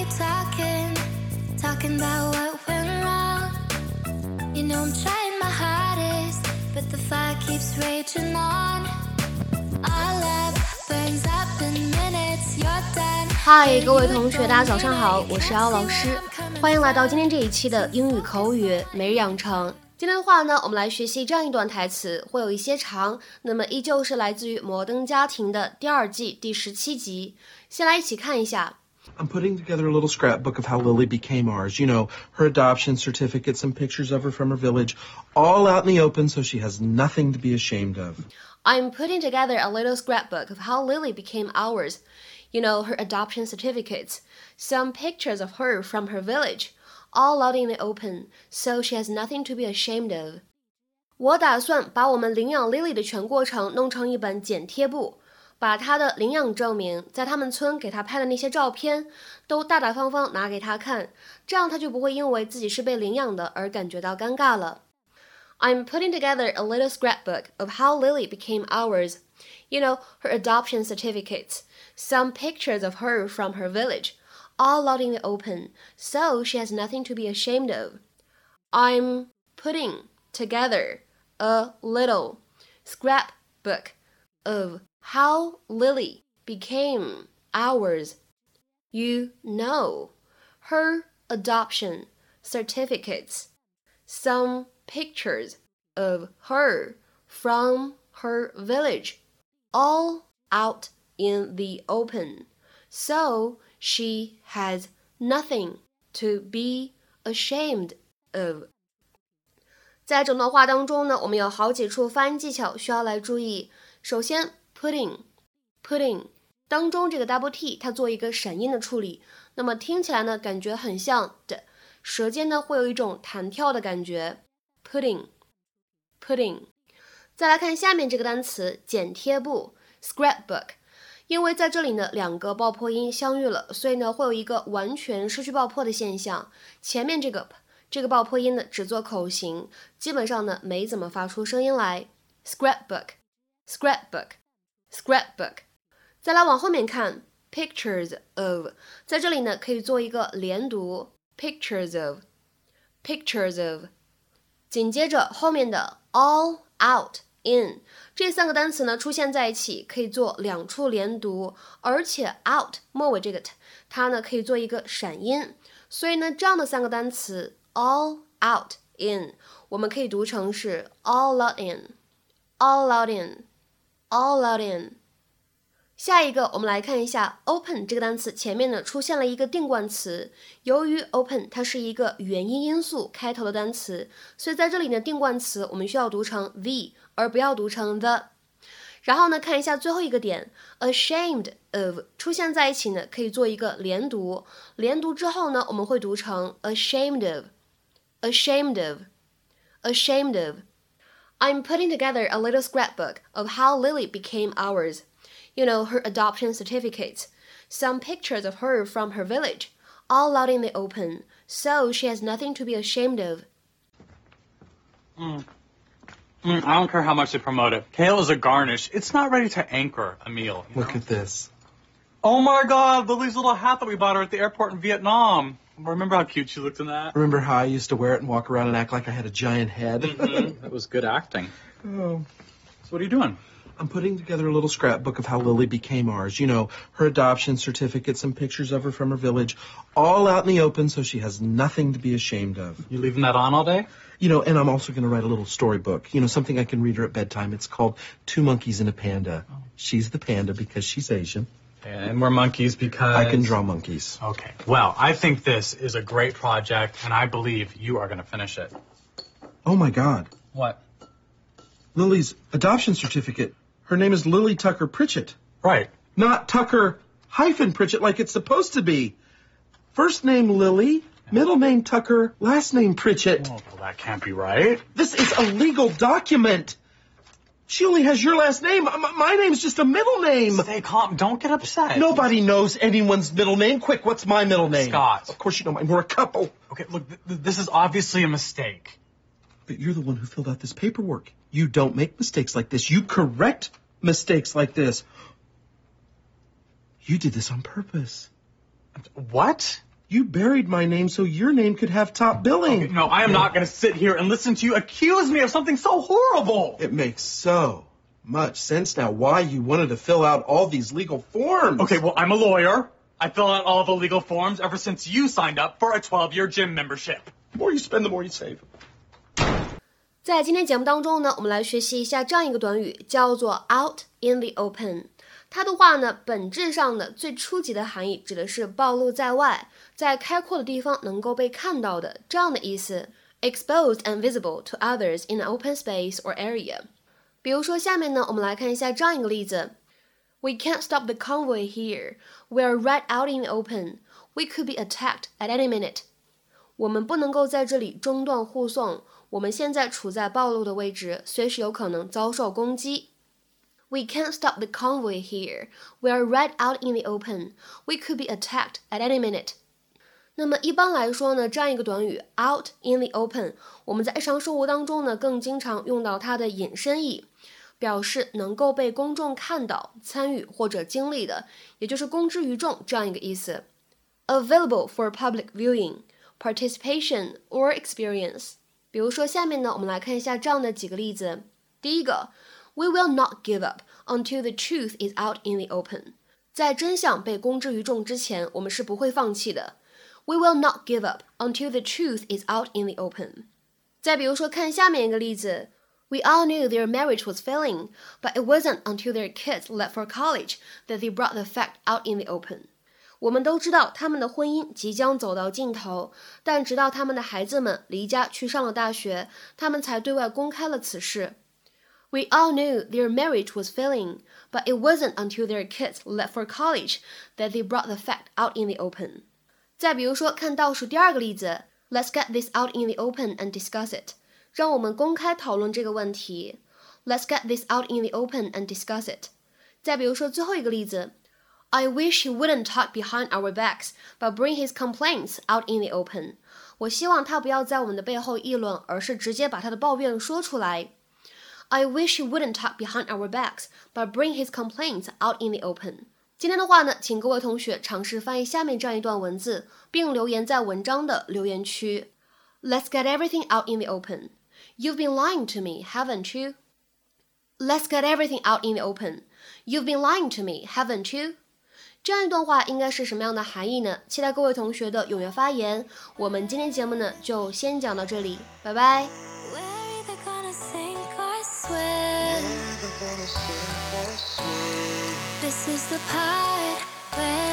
we talking about what went wrong. You know I'm trying my hardest, but the fire keeps raging on. Our love burns up in minutes, you're done. 嗨，各位同学，大家早上好，我是姚老师，欢迎来到今天这一期的英语口语每日养成。今天的话呢，我们来学习这样一段台词，会有一些长，那么依旧是来自于《摩登家庭》的第2季第17集。先来一起看一下。 I'm putting together a little scrapbook of how Lily became ours. You know, her adoption certificate, some pictures of her from her village, all out in the open so she has nothing to be ashamed of. I'm putting together a little scrapbook of how Lily became ours. You know, her adoption certificates, some pictures of her from her village, all out in the open, so she has nothing to be ashamed of. 我打算把我们领养 Lily 的全过程弄成一本剪贴簿，把她的领养证明，在他们村给她拍的那些照片，都大大方方拿给她看，这样她就不会因为自己是被领养的而感觉到尴尬了。I'm putting together a little scrapbook of how Lily became ours. You know, her adoption certificates, some pictures of her from her village, all out in the open, so she has nothing to be ashamed of. I'm putting together a little scrapbook of how Lily became ours. You know, her adoption certificates, some pictures of her from her village, all out in the open, so she has nothing to be ashamed of. 在整段话当中呢，我们有好几处发音技巧需要来注意。首先 pudding 当中这个 double t 它做一个闪音的处理，那么听起来呢感觉很像的，舌尖呢会有一种弹跳的感觉。pudding 再来看下面这个单词剪贴簿 scrapbook， 因为在这里呢两个爆破音相遇了，所以呢会有一个完全失去爆破的现象，前面这个爆破音呢只做口型，基本上呢没怎么发出声音来。scrapbook 再来往后面看 pictures of， 在这里呢可以做一个连读 pictures of， 紧接着后面的 all out in 这3个单词呢出现在一起可以做2处连读，而且 out 末尾这个 t 它呢可以做一个闪音，所以呢这样的3个单词 all out in 我们可以读成是 all out in。下一个我们来看一下 open 这个单词前面呢出现了一个定冠词，由于 open 它是一个元音因素开头的单词，所以在这里呢定冠词我们需要读成 the 而不要读成 the。 然后呢看一下最后一个点 ashamed of 出现在一起呢可以做一个连读，连读之后呢我们会读成 ashamed of。 I'm putting together a little scrapbook of how Lily became ours. You know, her adoption certificates, some pictures of her from her village, all out in the open, so she has nothing to be ashamed of. I don't care how much they promote it. Kale is a garnish. It's not ready to anchor a meal. Look at this. Oh my God, Lily's little hat that we bought her at the airport in Vietnam. Remember how cute she looked in that? Remember how I used to wear it and walk around and act like I had a giant head? That was good acting. Oh. So what are you doing? I'm putting together a little scrapbook of how Lily became ours. You know, her adoption certificate, some pictures of her from her village, all out in the open so she has nothing to be ashamed of. You leaving that on all day? You know, and I'm also going to write a little storybook, you know, something I can read her at bedtime. It's called Two Monkeys and a Panda. She's the panda because she's Asian. And we're monkeys because... I can draw monkeys. Okay. Well, I think this is a great project, and I believe you are going to finish it. Oh, my God. What? Lily's adoption certificate. Her name is Lily Tucker Pritchett. Right. Not Tucker hyphen Pritchett like it's supposed to be. First name Lily, middle name Tucker, last name Pritchett. Oh, well, that can't be right. This is a legal document. She only has your last name. My name's just a middle name. Stay calm. Don't get upset. Nobody knows anyone's middle name. Quick, what's my middle name? Scott. Of course you know mine. We're a couple. Okay, look, this is obviously a mistake. But you're the one who filled out this paperwork. You don't make mistakes like this. You correct mistakes like this. You did this on purpose. What? You buried my name so your name could have top billing. Okay, no, I am not going to sit here and listen to you accuse me of something so horrible. It makes so much sense now why you wanted to fill out all these legal forms. Okay, well, I'm a lawyer. I fill out all the legal forms ever since you signed up for a 12-year gym membership. The more you spend, the more you save. 在今天节目当中呢，我们来学习一下这样一个短语，叫做 out in the open。它的话呢，本质上的最初级的含义指的是暴露在外，在开阔的地方能够被看到的这样的意思。Exposed and visible to others in an open space or area。比如说下面呢，我们来看一下这样一个例子。We can't stop the convoy here. We are right out in the open. We could be attacked at any minute. 我们不能够在这里中断护送，我们现在处在暴露的位置，随时有可能遭受攻击。We can't stop the convoy here. We are right out in the open. We could be attacked at any minute. 那么一般来说呢，这样一个短语 out in the open， 我们在日常生活当中呢，更经常用到它的引申义，表示能够被公众看到、参与或者经历的，也就是公之于众这样一个意思。Available for public viewing, participation or experience。比如说下面呢，我们来看一下这样的几个例子。第一个 ，We will not give up until the truth is out in the open。在真相被公之于众之前，我们是不会放弃的。We will not give up until the truth is out in the open。再比如说，看下面一个例子 ，We all knew their marriage was failing, but it wasn't until their kids left for college that they brought the fact out in the open。我们都知道他们的婚姻即将走到尽头，但直到他们的孩子们离家去上了大学，他们才对外公开了此事。We all knew their marriage was failing, but it wasn't until their kids left for college that they brought the fact out in the open。再比如说，看倒数第二个例子 ，Let's get this out in the open and discuss it。让我们公开讨论这个问题。Let's get this out in the open and discuss it。再比如说最后一个例子 ，I wish he wouldn't talk behind our backs, but bring his complaints out in the open。我希望他不要在我们的背后议论，而是直接把他的抱怨说出来。I wish he wouldn't talk behind our backs, but bring his complaints out in the open。今天的话呢，请各位同学尝试翻译下面这样一段文字，并留言在文章的留言区。Let's get everything out in the open. You've been lying to me, haven't you? Let's get everything out in the open. You've been lying to me, haven't you? 这样一段话应该是什么样的含义呢？期待各位同学的踊跃发言。我们今天节目呢，就先讲到这里，拜拜。 This is the part where